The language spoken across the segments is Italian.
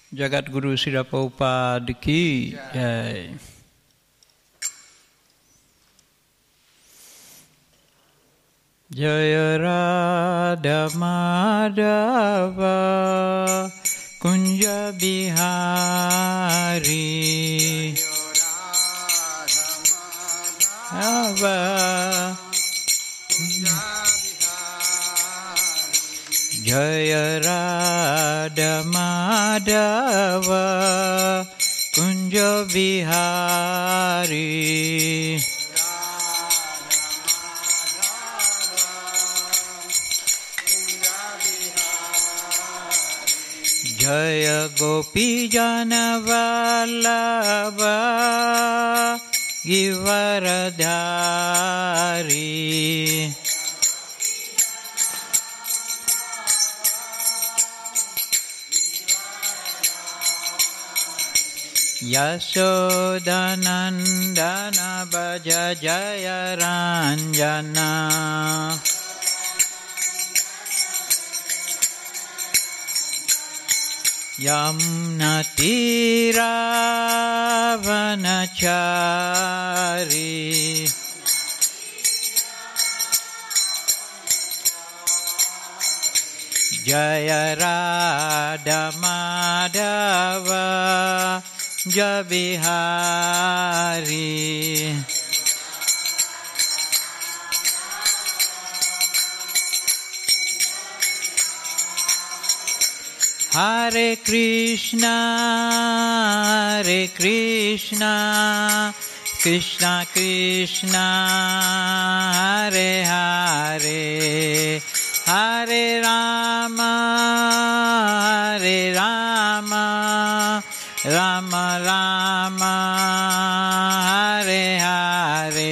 जगत गुरु श्रील प्रभुपाद की जय। जय राधा माधव कुंज बिहारी, जय राधा माधव कुंज बिहारी, जय गोपी जन वल्लभ गिरधारी, यशोदनंदन भज जय रंजना, यमुना तीरावनचारी, जय राधा माधव जय बिहारी, हरे कृष्णा कृष्णा कृष्णा हरे हरे, हरे राम राम राम हरे हरे,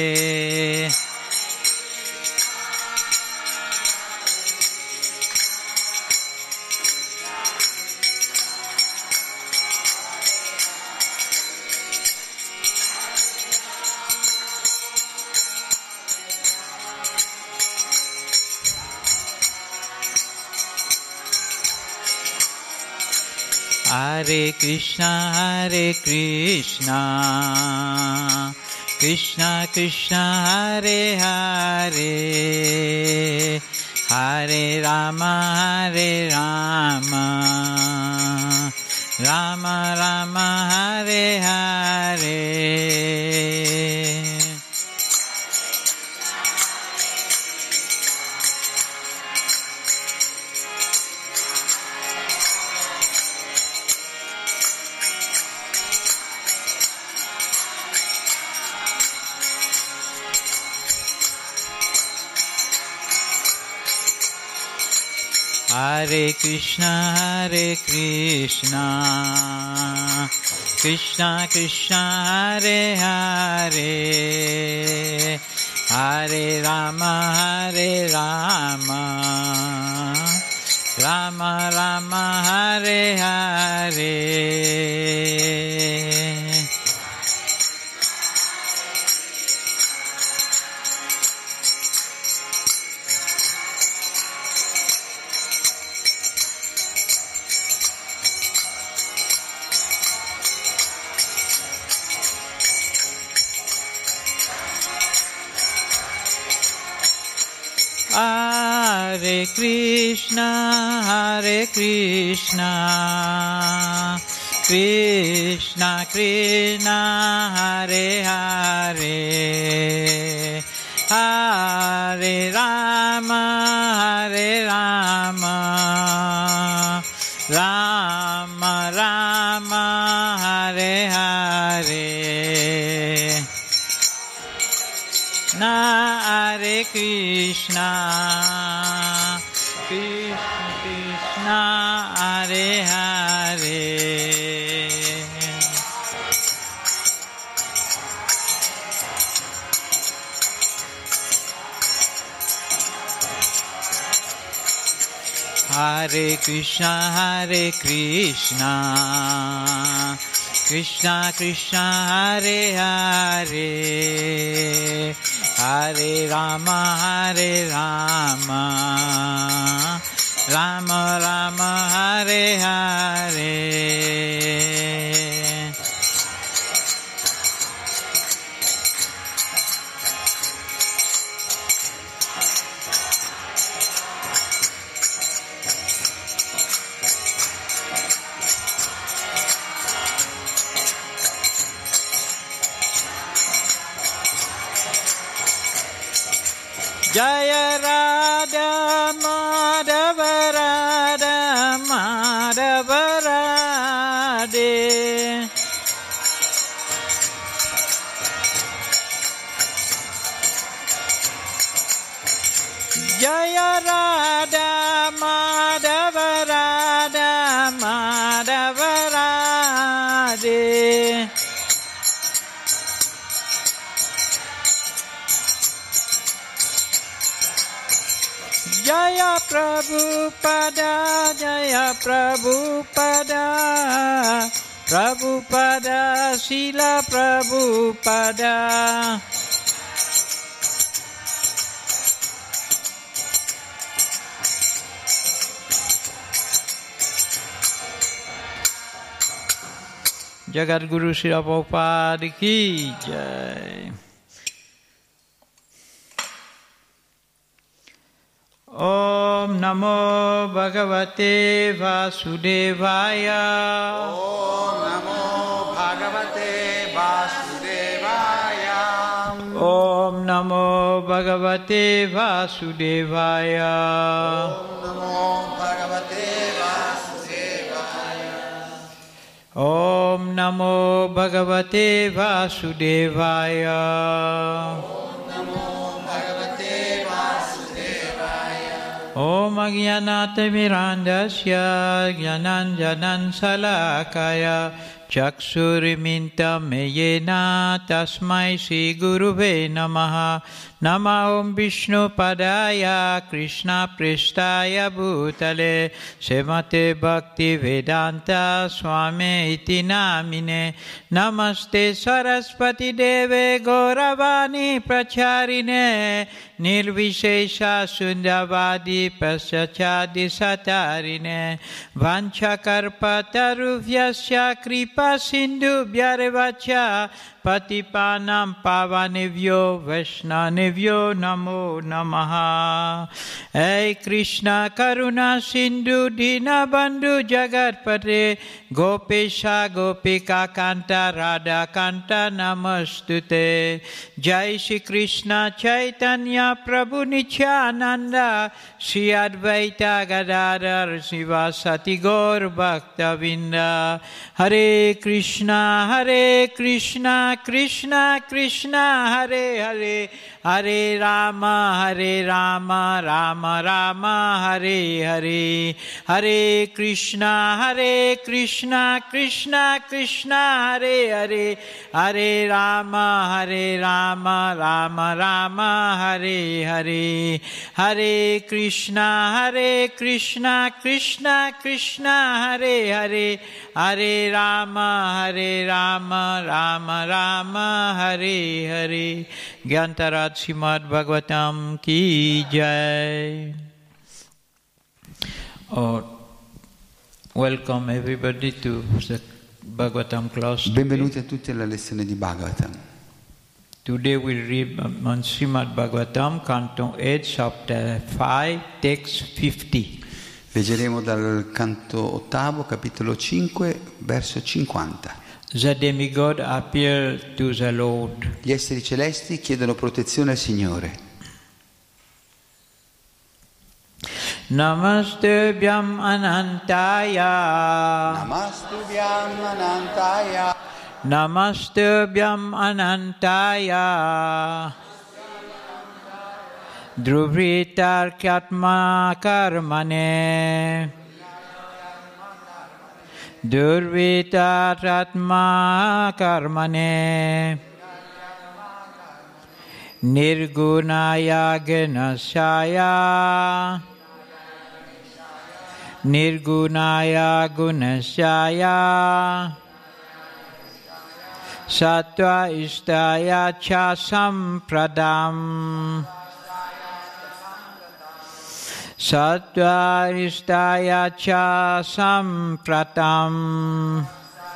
हरे कृष्णा कृष्णा कृष्णा हरे हरे, हरे राम राम राम हरे हरे, हरे कृष्णा कृष्णा कृष्णा हरे हरे, हरे राम राम राम हरे हरे, हरे कृष्णा कृष्णा कृष्णा हरे हरे, हरे राम राम राम हरे हरे, हरे कृष्णा कृष्णा हरे हरे, हरे कृष्णा कृष्णा कृष्णा हरे हरे, हरे Ram Rama Rama Hare Hare. Jaya Radha Madhava Radha Madhava Radhe. Jaya Radha Madhava Radha Madhava Radhe. Jaya Prabhupada, Jaya Prabhupada, Prabhupada, Srila Prabhupada. Jagat Guru Srila Prabhupada ki jai. Om Namo Bhagavate Vasudevaya. Om Namo Bhagavate Vasudevaya. Om Namo Bhagavate Vasudevaya. Om Namo Bhagavate Vasudevaya. Om Namo Bhagavate Vasudevaya. Om Agyanata Mirandasya Gyananjanan Salakaya Chakshuriminta Meyena Tasmai Sri Guruve Namaha. Nama Om Vishnu Padaya Krishna Prestaya Bhutale Semate Bhakti Vedanta Swami Iti Namine. Namaste Saraswati Deve Gauravani Pracharine Nirvishesha Sundavadi Paschachadi Satarine Vanchakarpatarubhyasya Kripa Sindhu Bhyarevacha Patipanam Pavanevyo Vaishnavevyo Namo Namaha. Hey Krishna Karuna Sindhu Dina Bandhu Jagatpate Gopesha Gopika Kanta Radha Kanta Namastute. Jai Shri Krishna Chaitanya Prabhu Nityananda Shri Advaita Gadadhar Sivasati Gaur Bhaktavinda. Hare Krishna Krishna Krishna Hare Hare Hare Rama Rama Rama Hare Hare. Hare Krishna Krishna Krishna Hare Hare Hare Rama Rama Rama Hare Hare. Hare Krishna Krishna Krishna Hare Hare Hare Rama Rama Rama Hare Hare. Gyantarat Srimad Bhagavatam ki jai. Welcome everybody to the Bhagavatam class. Benvenuti a tutti alla lezione di Bhagavatam. Today we'll read on Srimad Bhagavatam, Canto 8, Chapter 5, Text 50. Leggeremo dal canto ottavo, capitolo 5, verso 50. The demigod appeared to the Lord. Gli esseri celesti chiedono protezione al Signore. Namastubhyam Anantaya. Namastubhyam Anantaya. Namastubhyam Anantaya. Druvritarkyatma karmane. Durvitaratma karmane. Nirgunaya ganasaya. Nirgunaya gunasaya. Sattva istaya cha sampradam. Sattva istaya cha sampratam.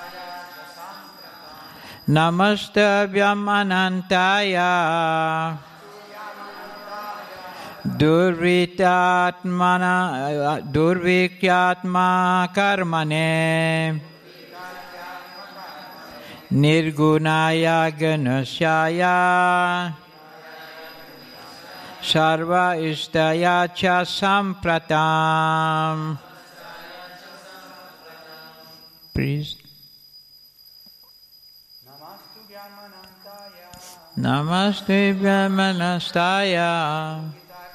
Namastabhyam anantaya. Durvikyatma karmane. Nirgunaya ganusyaya. Sarva istaya cha sampratam. Please. Namaste Brahmanastaya.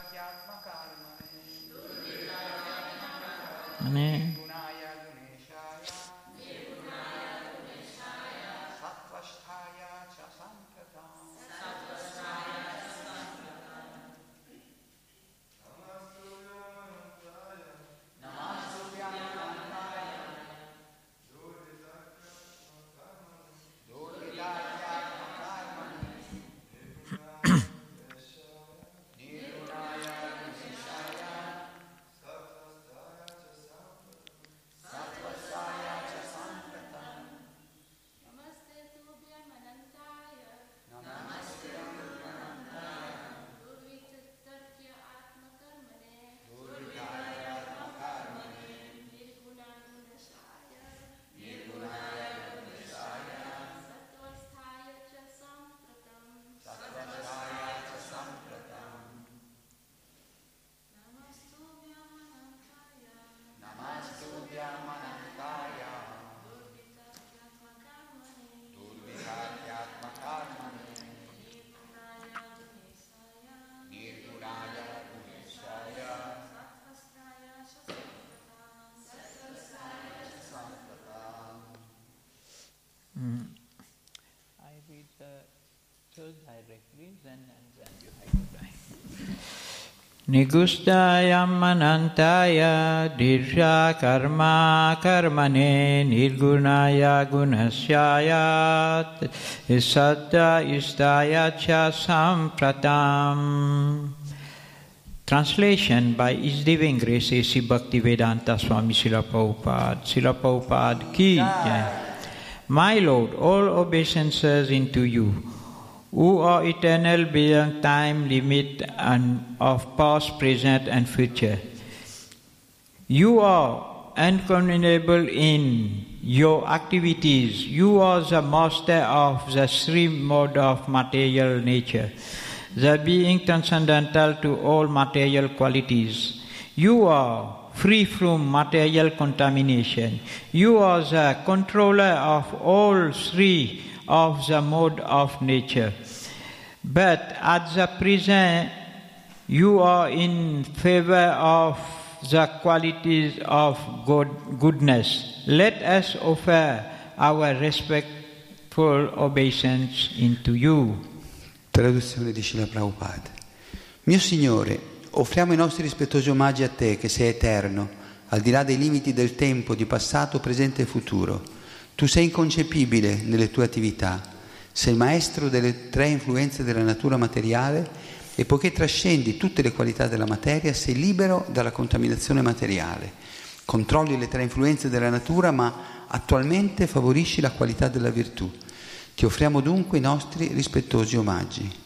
I read the third directly, then you have to write. Nigustayam anantaya dirsha karma karmane nirgunaya gunasyayat satta istaya cha sampratam. Translation by His Divine Grace A.C. Bhaktivedanta Swami Srila Prabhupada. Srila Prabhupada ki jai. My Lord, all obeisances into you, who are eternal beyond time, limit, and of past, present, and future. You are uncommunicable in your activities. You are the master of the three modes of material nature, the being transcendental to all material qualities. You are free from material contamination. You are the controller of all three of the mode of nature. But at the present, you are in favor of the qualities of goodness. Let us offer our respectful obeisance into you. Traduzione di Srila Prabhupada. Mio Signore, offriamo i nostri rispettosi omaggi a Te, che sei eterno, al di là dei limiti del tempo, di passato, presente e futuro. Tu sei inconcepibile nelle tue attività, sei il maestro delle tre influenze della natura materiale e poiché trascendi tutte le qualità della materia, sei libero dalla contaminazione materiale. Controlli le tre influenze della natura, ma attualmente favorisci la qualità della virtù. Ti offriamo dunque i nostri rispettosi omaggi.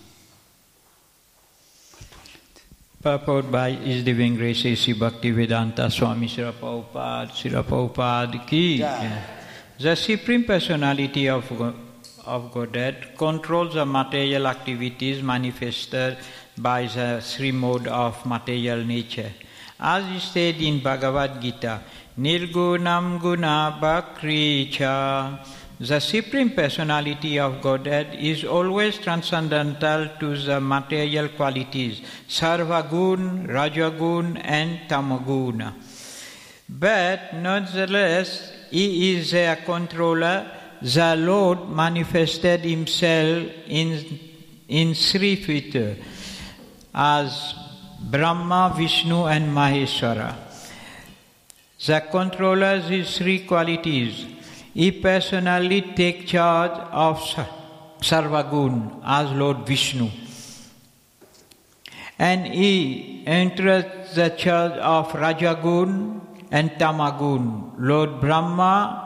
Purport by His Divine Grace A.C. Bhaktivedanta Swami Srila Prabhupada ki. The Supreme Personality of Godhead controls the material activities manifested by the three modes of material nature. As stated in Bhagavad Gita, Nirgunam Guna Bhakri Cha. The Supreme Personality of Godhead is always transcendental to the material qualities, Sarvagun, Rajagun, and Tamaguna. But nonetheless, He is their controller. The Lord manifested Himself in three feet as Brahma, Vishnu, and Maheshwara. The controller these three qualities. He personally takes charge of Sarvagun as Lord Vishnu. And he entered the church of Rajagun and Tamagun, Lord Brahma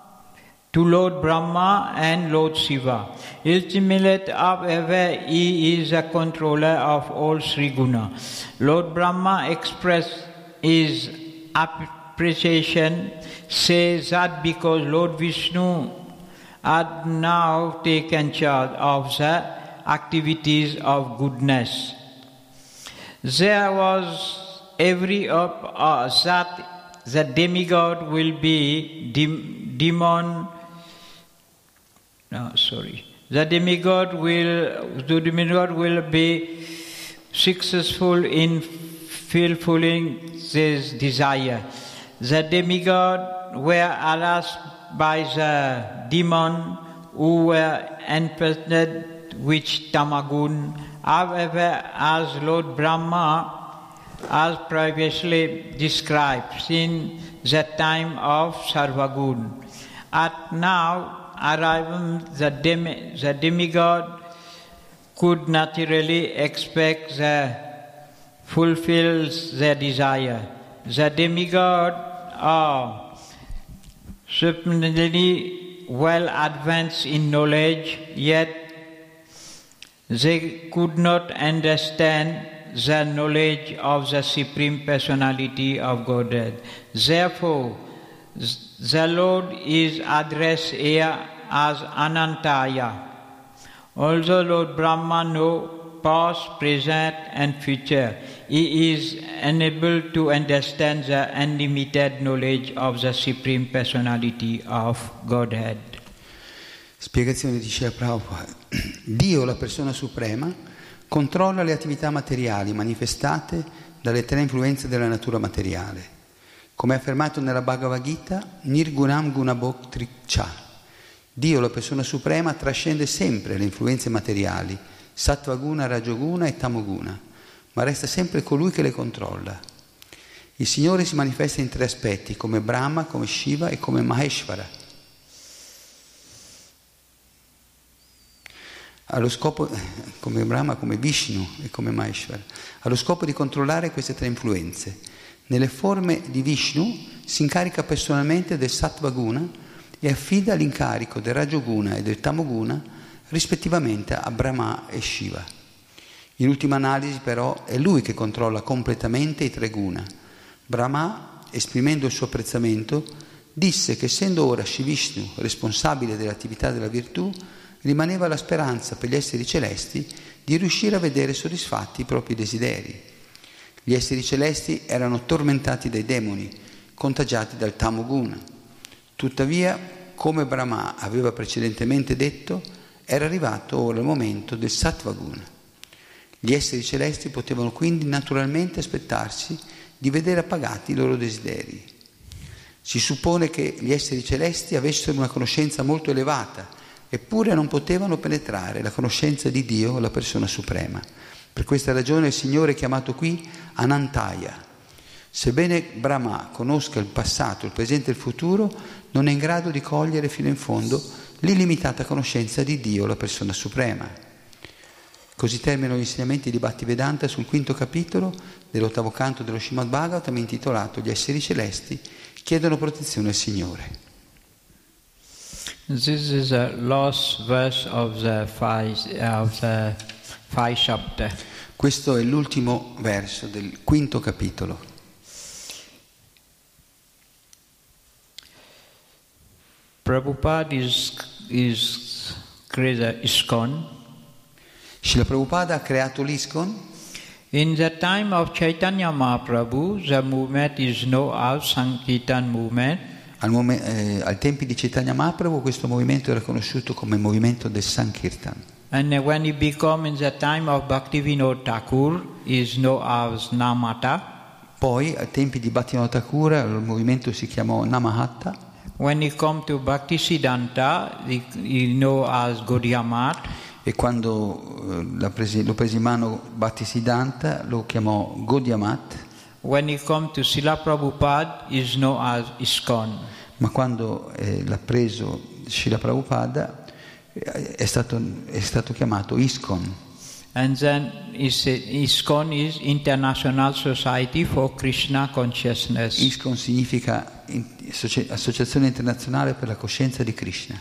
and Lord Shiva. Ultimately, however, he is a controller of all Sri Guna. Lord Brahma expressed his appreciation, says that because Lord Vishnu had now taken charge of the activities of goodness, there was every hope that the demigod will be The demigod will be successful in fulfilling this desire. The demigod were harassed by the demon who were infested with Tamagun. However, as Lord Brahma has previously described in the time of Sarvagun, at now arriving the demigod could naturally expect the fulfills their desire. The demigod are certainly well advanced in knowledge, yet they could not understand the knowledge of the Supreme Personality of Godhead. Therefore, the Lord is addressed here as Anantaya. Although Lord Brahma knows past, present and future, he is unable to understand the unlimited knowledge of the Supreme Personality of Godhead. Spiegazione di Srila Prabhupada. Dio, la persona suprema, controlla le attività materiali manifestate dalle tre influenze della natura materiale. Come affermato nella Bhagavad Gita, Nirgunam Gunabhoktri Cha. Dio, la persona suprema, trascende sempre le influenze materiali, Sattvaguna, Rajoguna e Tamoguna, ma resta sempre colui che le controlla. Il Signore si manifesta in tre aspetti, come Brahma, come Shiva e come Maheshvara. Allo scopo, come Brahma, come Vishnu e come Maheshvara, allo scopo di controllare queste tre influenze. Nelle forme di Vishnu si incarica personalmente del Sattvaguna e affida l'incarico del Rajoguna e del Tamoguna rispettivamente a Brahma e Shiva. In ultima analisi però è lui che controlla completamente i tre guna. Brahma, esprimendo il suo apprezzamento, disse che essendo ora Shri Vishnu responsabile dell'attività della virtù, rimaneva la speranza per gli esseri celesti di riuscire a vedere soddisfatti i propri desideri. Gli esseri celesti erano tormentati dai demoni, contagiati dal Tamoguna. Tuttavia, come Brahma aveva precedentemente detto, era arrivato ora il momento del Sattvaguna. Gli esseri celesti potevano quindi naturalmente aspettarsi di vedere appagati i loro desideri. Si suppone che gli esseri celesti avessero una conoscenza molto elevata, eppure non potevano penetrare la conoscenza di Dio, la persona suprema. Per questa ragione il Signore è chiamato qui Anantaya. Sebbene Brahma conosca il passato, il presente e il futuro, non è in grado di cogliere fino in fondo l'illimitata conoscenza di Dio, la persona suprema. Così terminano gli insegnamenti di Bhaktivedanta sul quinto capitolo dell'8º canto dello Srimad Bhagavatam, intitolato Gli esseri celesti chiedono protezione al Signore. This is the last verse of the five chapter. Questo è l'ultimo verso del quinto capitolo. Prabhupada is created ISKCON. Srila Prabhupada ha creato l'ISKCON. In the time of Chaitanya Mahaprabhu, the movement is known as Sankirtan movement. Al tempi di Chaitanya Mahaprabhu questo movimento era conosciuto come movimento del Sankirtan. And when it became in the time of Bhaktivinoda Thakur, is known as Namata. Poi, ai tempi di Bhaktivinoda Thakur, il movimento si chiamò Namahatta. When it come to Bhaktisiddhanta, you know as Gaudiya Math. E quando lo prese in mano Bhaktisiddhanta, lo chiamò Gaudiya Math. When it come to Srila Prabhupada, is known as ISKCON. Ma quando l'ha preso Srila Prabhupada, è stato chiamato ISKCON. And then ISKCON is International Society for Krishna Consciousness. ISKCON significa Associazione Internazionale per la Coscienza di Krishna.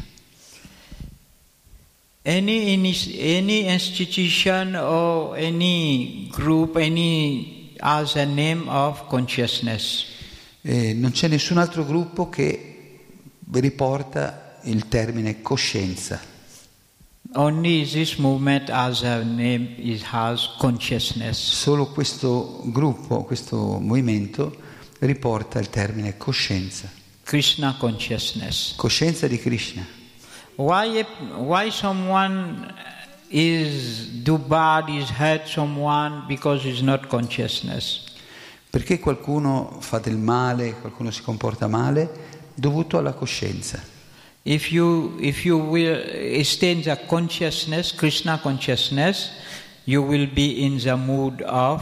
Any institution or any group, any has a name of consciousness. Non c'è nessun altro gruppo che riporta il termine coscienza. Only this movement has a name, it has consciousness. Solo questo gruppo, questo movimento riporta il termine coscienza. Krishna consciousness. Coscienza di Krishna. Why someone do bad, is hurt someone because it's not consciousness? Perché qualcuno fa del male, qualcuno si comporta male, dovuto alla coscienza. If you will stay in the consciousness, Krishna consciousness, you will be in the mood of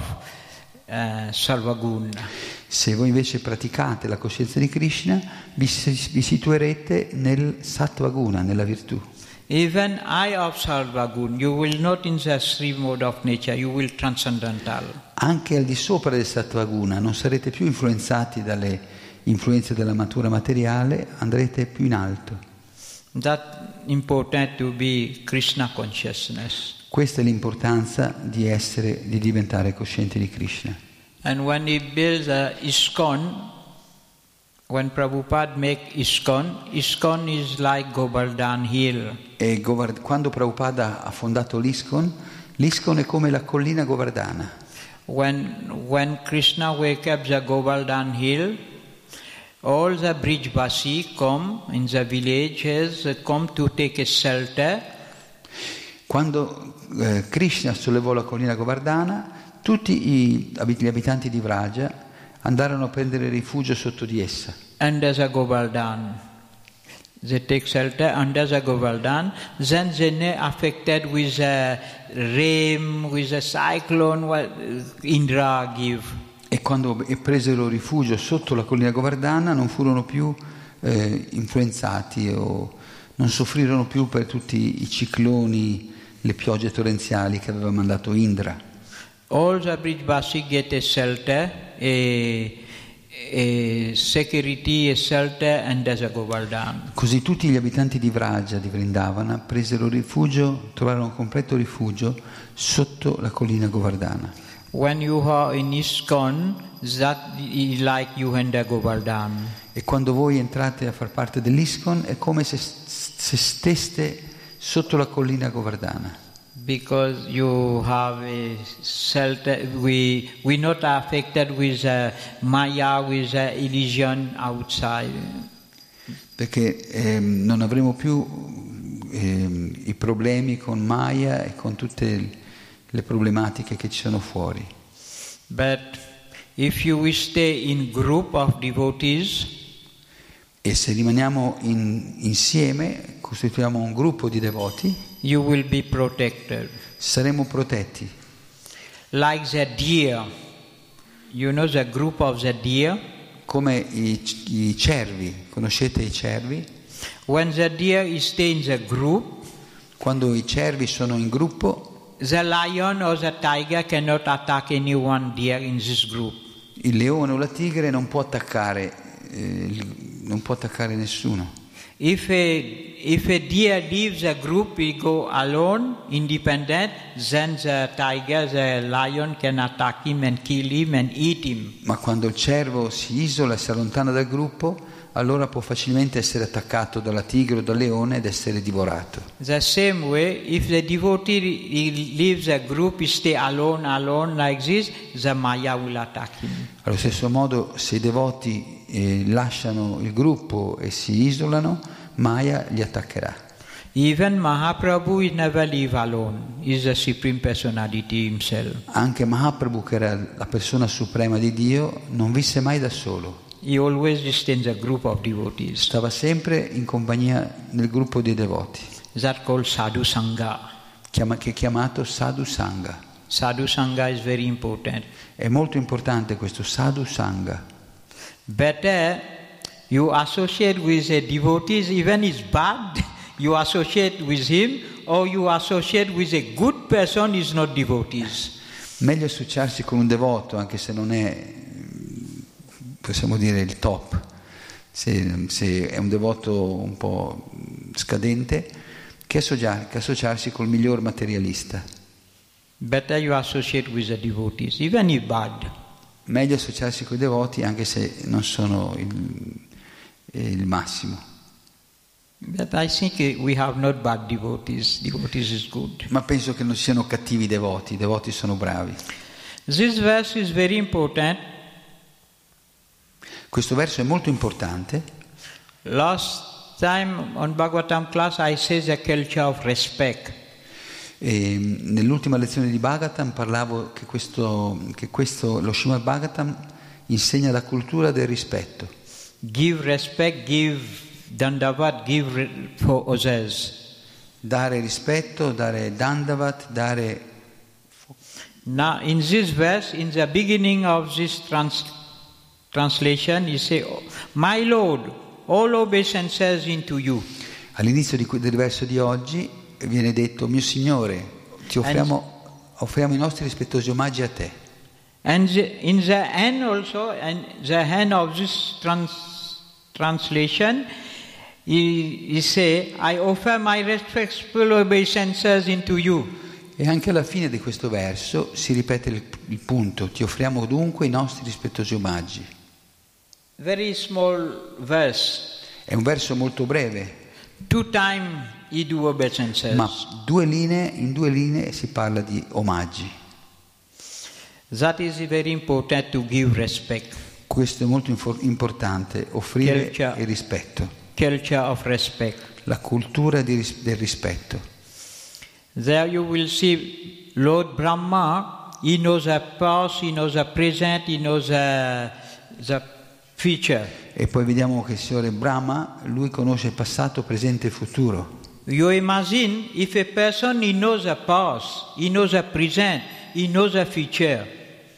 Sarvaguna. Se voi invece praticate la coscienza di Krishna, vi situerete nel Sattvaguna, nella virtù. Even eye of Sarvaguna, you will not in the Sri mode of nature, you will transcendental. Anche al di sopra del Sattvaguna non sarete più influenzati dalle influenze della natura materiale, andrete più in alto. That important to be Krishna consciousness. Questa è l'importanza di diventare coscienti di Krishna. And when he builds ISKCON, when Prabhupada make ISKCON is like Govardhan Hill. E quando Prabhupada ha fondato l'ISKCON è come la collina Govardhana. When Krishna wake up the Govardhan Hill, all the Brijvasi come in the villages, come to take a shelter. Quando Krishna sollevò la collina Govardhana, tutti gli abitanti di Vraja andarono a prendere rifugio sotto di essa. Under the Govardhan. They take shelter under the Govardhan. Then they are affected with a rain, with a cyclone, what Indra give. E quando presero rifugio sotto la collina Govardhana non furono più influenzati o non soffrirono più per tutti i cicloni, le piogge torrenziali che aveva mandato Indra. All the Brijvasi get a shelter, a security, a shelter under the Govardhan. Così tutti gli abitanti di Vraja, di Vrindavana, presero rifugio, trovarono completo rifugio sotto la collina Govardhana. When you are in ISKCON, that is like you under Govardhan. E quando voi entrate a far parte dell'ISKCON è come se steste sotto la collina Govardhana. Because you have a shelter, we not affected with Maya, with illusion outside. Perché non avremo più i problemi con Maya e con tutte le problematiche che ci sono fuori. But if you stay in group of devotees, e se rimaniamo insieme, costituiamo un gruppo di devoti, you will be protected. Saremo protetti. Like the deer, you know the group of the deer? Come i cervi, conoscete i cervi? When the deer stay in the group, quando i cervi sono in gruppo, the lion or the tiger cannot attack any one deer in this group. Il leone o la tigre non può attaccare nessuno. If a deer leaves a group, he go alone, independent, then the tiger, the lion can attack him and kill him and eat him. Ma quando il cervo si isola e si allontana dal gruppo, allora può facilmente essere attaccato dalla tigre o dal leone ed essere divorato. The same way, if the devotee leaves a group, stay alone like this, the Maya will attack him. Allo stesso modo, se i devoti lasciano il gruppo e si isolano, Maya li attaccherà. Even Mahaprabhu is never live alone. He is the Supreme Personality himself. Anche Mahaprabhu, che era la persona suprema di Dio, non visse mai da solo. He always stayed in a group of devotees. Stava sempre in compagnia nel gruppo dei devoti. That called Sadhu Sangha. Che è chiamato Sadhu Sangha. Sadhu Sangha is very important. È molto importante questo Sadhu Sangha. Better you associate with a devotees, even is bad, You associate with him or you associate with a good person is not devotees. Meglio associarsi con un devoto, anche se non è, possiamo dire, il top. Se è un devoto un po' scadente, che associarsi col miglior materialista. Better you associate with the devotees, even if bad. Meglio associarsi con i devoti anche se non sono il massimo. But I think we have not bad devotees. Devotees is good. Ma penso che non siano cattivi i devoti sono bravi. This verse is very important. Questo verso è molto importante. Last time on Bhagavatam class I said the culture of respect. E nell'ultima lezione di Bhagavatam parlavo che lo Srimad Bhagavatam insegna la cultura del rispetto. Give respect, give dandavat, give for others. Dare rispetto, dare dandavat, dare... Now in this verse, in the beginning of this translation, he say, "My Lord, all obeisances into you." All'inizio del verso di oggi viene detto: mio Signore, ti offriamo i nostri rispettosi omaggi a te. And in the end also, and the end of this translation, he say, "I offer my respectful obeisances into you." E anche alla fine di questo verso si ripete il punto: ti offriamo dunque i nostri rispettosi omaggi. Very small verse. È un verso molto breve. 2 times he do obeisances. Ma in due linee si parla di omaggi. That is very important to give respect. Questo è molto importante, offrire il rispetto. Culture of respect. La cultura del rispetto. There you will see Lord Brahma, he knows the past, he knows the present, he knows the future. E poi vediamo che il Signore Brahma, lui conosce il passato, presente e futuro. You imagine if a person he knows the past, he knows the present, he knows the future.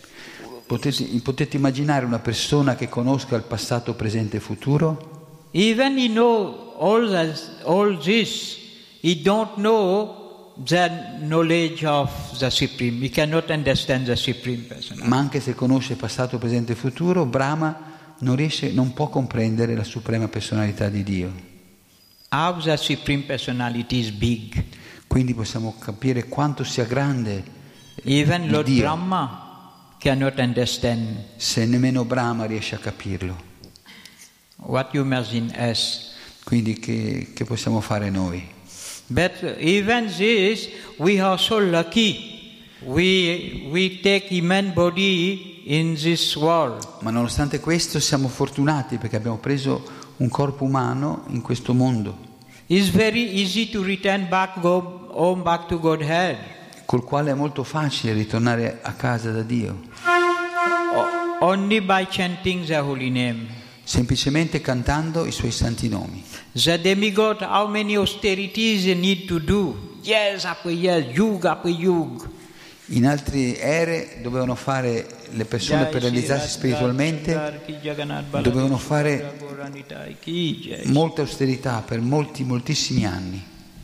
Potete immaginare una persona che conosca il passato, presente e futuro? Even he know all this, he don't know the knowledge of the Supreme. He cannot understand the Supreme Personality. Ma anche se conosce passato, presente e futuro, Brahma non può comprendere la suprema personalità di Dio. How the Supreme Personality is big. Quindi possiamo capire quanto sia grande Even Lord Dio. Brahma cannot understand. Se nemmeno Brahma riesce a capirlo. What you imagine us. Quindi che possiamo fare noi? But even this, we are so lucky. We take human body in this world. Ma nonostante questo siamo fortunati perché abbiamo preso un corpo umano in questo mondo. It's very easy to return back, go home, back to Godhead. Col quale è molto facile ritornare a casa da Dio. Only by chanting the holy name. Semplicemente cantando i suoi santi nomi. The demigod, how many austerities they need to do? Yes, after yes, yuga after yuga. In altre ere dovevano fare le persone per realizzarsi spiritualmente, dovevano fare molta austerità per moltissimi anni.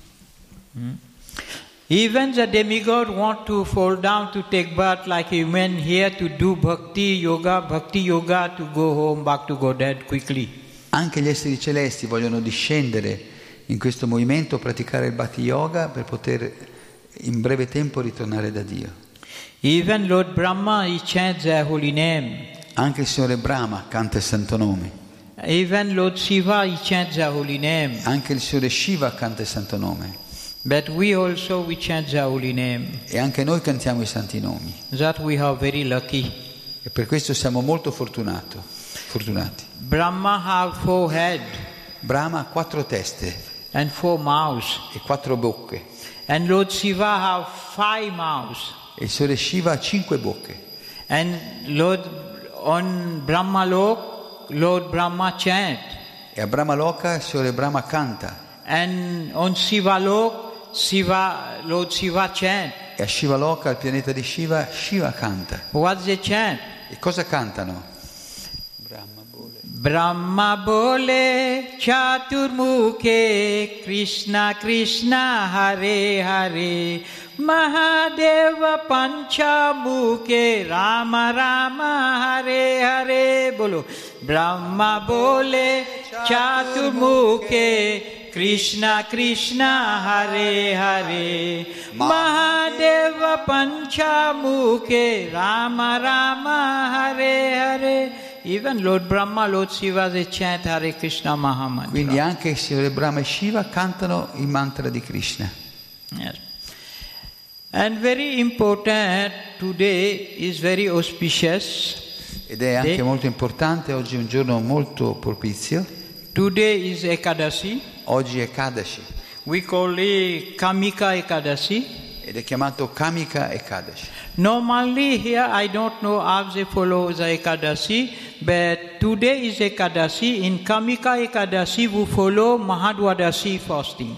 Even the demigod want to fall down to take birth like human here to do bhakti yoga to go home back to Godhead quickly. Anche gli esseri celesti vogliono discendere in questo movimento, praticare il bhakti yoga per poter in breve tempo ritornare da Dio. Even Lord Brahma, he chants the holy name. Anche il Signore Brahma canta il santo nome. Even Lord Shiva, he chants the holy name. Anche il Signore Shiva canta il santo nome. But we chant the holy name. E anche noi cantiamo i santi nomi. That we are very lucky. E per questo siamo molto fortunati. Brahma have 4 head. Brahma ha 4 teste. And 4 mouths. E 4 bocche. And Lord Shiva have 5 mouths. E il Signore Shiva ha 5 bocche. And on Brahma Lok, Lord Brahma chant. E a Brahma Loka il Signore Brahma canta. And on Shiva Lok, Lord Shiva chant. E a Shiva Loka, il pianeta di Shiva, Shiva canta. What they chant? E cosa cantano? Brahma bole chaturmukhe Krishna Krishna Hare Hare Mahadeva Panchamukhe Rama Rama Hare Hare. Bolo. Brahma bole chaturmukhe Krishna Krishna Hare Hare Mahadeva Panchamukhe Rama Rama Hare Hare. Even Lord Brahma, Lord Shiva, they chant Hare Krishna Mahamantra. Quindi anche il Signore Brahma e Shiva cantano il mantra di Krishna. Yes. And very important, today is very auspicious. Ed è anche molto importante, oggi è un giorno molto propizio. Today is Ekadasi. Oggi è Ekadashi. We call it Kamika Ekadasi. Ed è chiamato Kamika Ekadashi. Normally here I don't know how they follow the Ekadasi, but today is Ekadasi. In Kamika Ekadasi we follow Mahadwadasi fasting.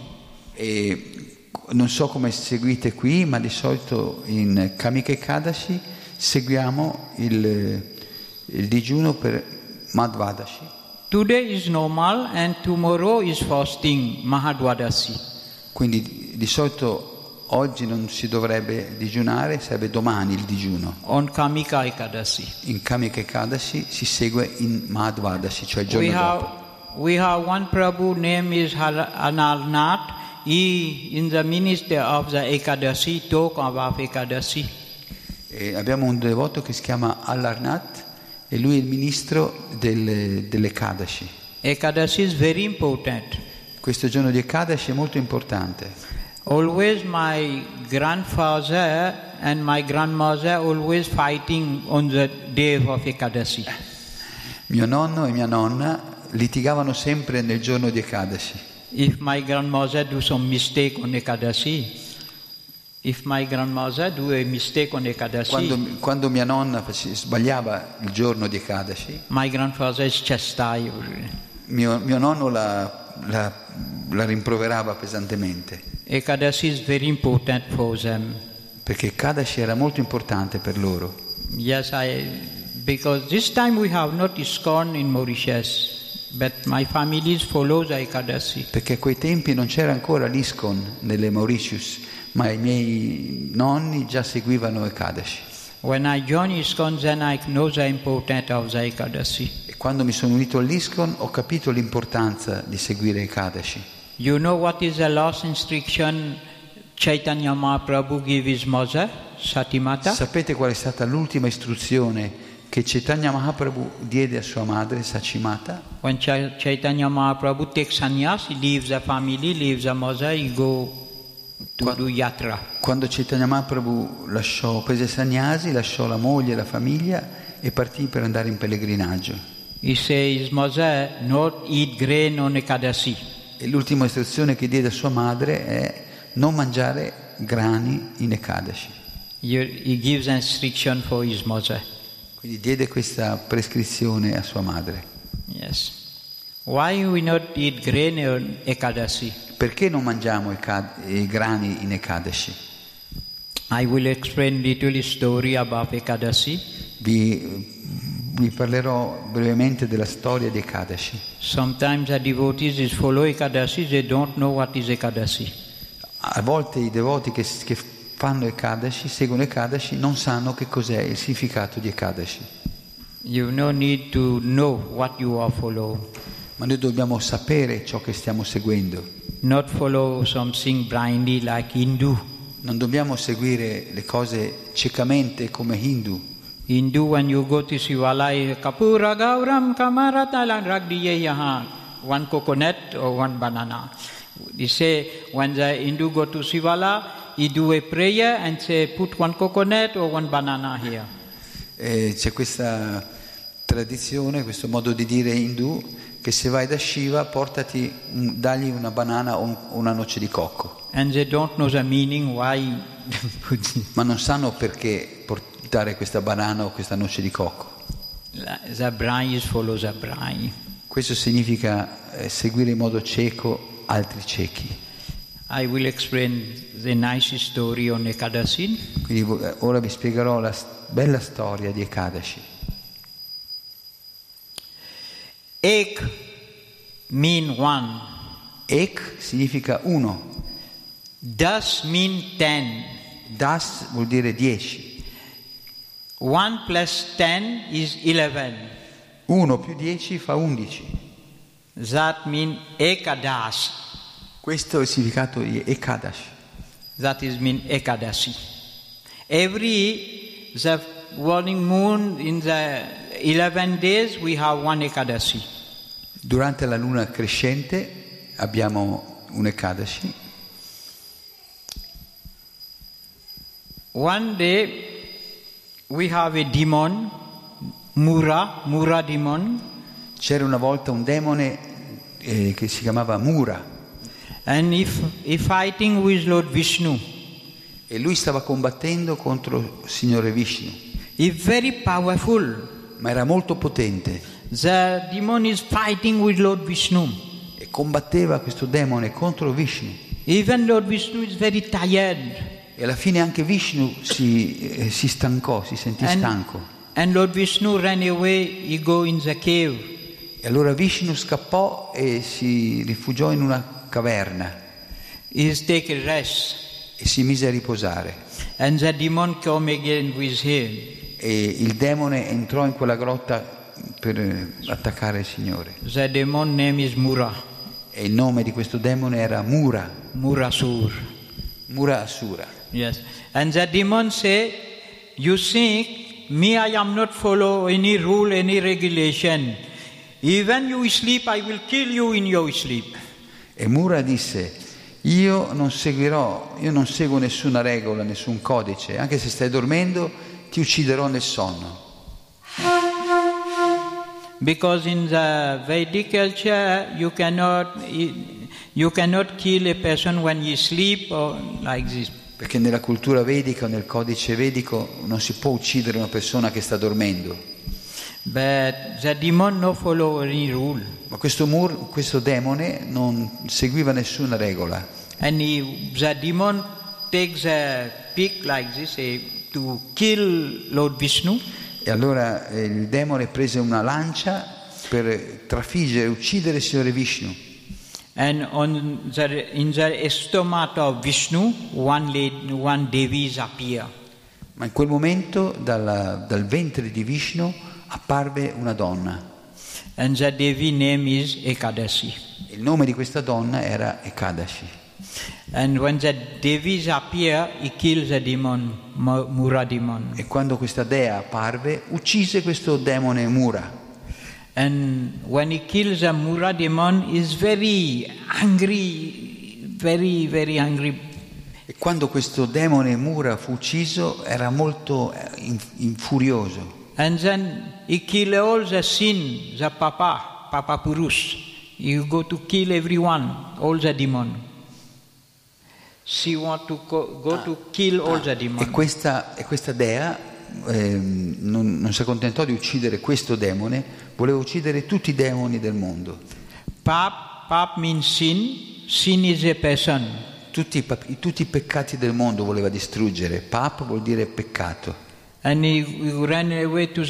E non so come seguite qui, ma di solito in Kamika Ekadashi seguiamo il digiuno per Madhvadashi. Today is normal and tomorrow is fasting Mahadwadasi. Quindi di solito oggi non si dovrebbe digiunare, sarebbe domani il digiuno. On Kamika Ekadasi. In Kamika Ekadashi si segue in Madhvadashi, cioè il giorno dopo. We have one Prabhu, name is Analnath. He, in the ministry of the Ekadasi, talk about Ekadasi. E abbiamo un devoto che si chiama Alarnath e lui è il ministro dell'Ekadashi. Ekadasi is very important. Questo giorno di Ekadashi è molto importante. Always my grandfather and my grandmother always fighting on the day of Ekadasi. Mio nonno e mia nonna litigavano sempre nel giorno di Ekadashi. If my grandmother do some mistake on Ekadasi, Quando mia nonna sbagliava il giorno di Ekadashi, my grandfather is chastised. mio nonno la rimproverava pesantemente. Ekadasi is very important for them. Perché Ekadashi era molto importante per loro. Yes, because this time we have not ISKCON in Mauritius. But my family follows Ekadasi. Perché a quei tempi non c'era ancora l'ISKCON nelle Mauritius, ma i miei nonni già seguivano Ekadashi. When I joined ISKCON, then I know the importance of the Ekadasi. E quando mi sono unito all'ISKCON ho capito l'importanza di seguire Ekadashi. You know what is the last instruction Chaitanya Mahaprabhu gave his mother, Satimata? Sapete qual è stata l'ultima istruzione che Chaitanya Mahaprabhu diede a sua madre, Sachimata? When Chaitanya Mahaprabhu takes sannyas, he leaves the family, leaves the mother, he go to do yatra. Quando Chaitanya Mahaprabhu prese sannyasi, lasciò la moglie e la famiglia e partì per andare in pellegrinaggio. He says, mother, not eat grain on Ekadasi. E l'ultima istruzione che diede a sua madre è non mangiare grani in Ekadashi. He gives an instruction for his mother. Quindi diede questa prescrizione a sua madre. Yes. Why we not eat grain on Ekadasi? Perché non mangiamo i grani in Ekadashi? I will explain little story about Ekadasi. Vi parlerò brevemente della storia di Ekadashi. Sometimes the devotees follow Ekadasi, they don't know what is Ekadasi. A volte i devoti che fanno Ekadashi, seguono Ekadashi, non sanno che cos'è il significato di Ekadashi. You no need to know what you are following. Ma noi dobbiamo sapere ciò che stiamo seguendo. Not follow something blindly like Hindu. Non dobbiamo seguire le cose ciecamente come Hindu. Hindu, when you go to Shivalaya, Kapura Gauram Kamaratalan Ragdiye Yahan, one coconut or one banana. They say when the Hindu go to Shivala, he do a prayer and say put one coconut or one banana here. C'è questa tradizione, questo modo di dire Hindu, che se vai da Shiva dagli una banana o una noce di cocco. And they don't know the meaning why. Ma non sanno perché portare questa banana o questa noce di cocco. The brain is follow the brain. Questo significa seguire in modo cieco altri ciechi. I will explain the nice story on Ekadasi. Quindi ora vi spiegherò la bella storia di Ekadashi. Ek mean one. Ek significa uno. Das mean 10. Das vuol dire 10. 1 plus 10 is 11. 1 più 10 fa 11. That mean Ekadash. Questo è il significato di Ekadash. That is mean Ekadashi. Every the waning moon in the 11 days we have one Ekadashi. Durante la luna crescente abbiamo un Ekadashi. One day we have a demon, Mura demon. C'era una volta un demone che si chiamava Mura. And if fighting with Lord Vishnu. E lui stava combattendo contro il Signore Vishnu. He's very powerful. Ma era molto potente. The demon is fighting with Lord Vishnu. E combatteva questo demone contro Vishnu. Even Lord Vishnu is very tired. E alla fine anche Vishnu si stancò, si sentì stanco. And Lord Vishnu ran away, he go in the cave. E allora Vishnu scappò e si rifugiò in una caverna. He take a rest. E si mise a riposare. And the demon come again with him. E il demone entrò in quella grotta per attaccare il Signore. The demon name is Mura. E il nome di questo demone era Mura. Murasur. Mura Asura. Yes. And the demon say, you think me I am not follow any rule, any regulation. Even you sleep, I will kill you in your sleep. E Mura disse, io non seguo nessuna regola, nessun codice, anche se stai dormendo ti ucciderò nel sonno. Because in the Vedic culture you cannot kill a person when you sleep or like this. Perché nella cultura vedica o nel codice vedico non si può uccidere una persona che sta dormendo. But the demon no follow any rule. Ma questo demone non seguiva nessuna regola. And the demon takes a pick like this to kill Lord Vishnu. E allora il demone prese una lancia per trafiggere e uccidere il Signore Vishnu. And in the stomach of Vishnu, one Devi appear. Ma in quel momento dal ventre di Vishnu apparve una donna. And the Devi name is Ekadashi. Il nome di questa donna era Ekadashi. And when the Devis appear, he kills the demon, Mura demon. E quando questa dea apparve, uccise questo demone Mura. And when he kills the Mura demon, he is very angry, very, very angry. E quando questo demone Mura fu ucciso, era molto furioso. And then he kill all the sin, the Papa Purush. You go to kill everyone, all the demon. She want to go to kill all the demon. E questa dea non si accontentò di uccidere questo demone, voleva uccidere tutti i demoni del mondo. Pap means sin is a person. Tutti i peccati del mondo voleva distruggere. Pap vuol dire peccato. And he ran away to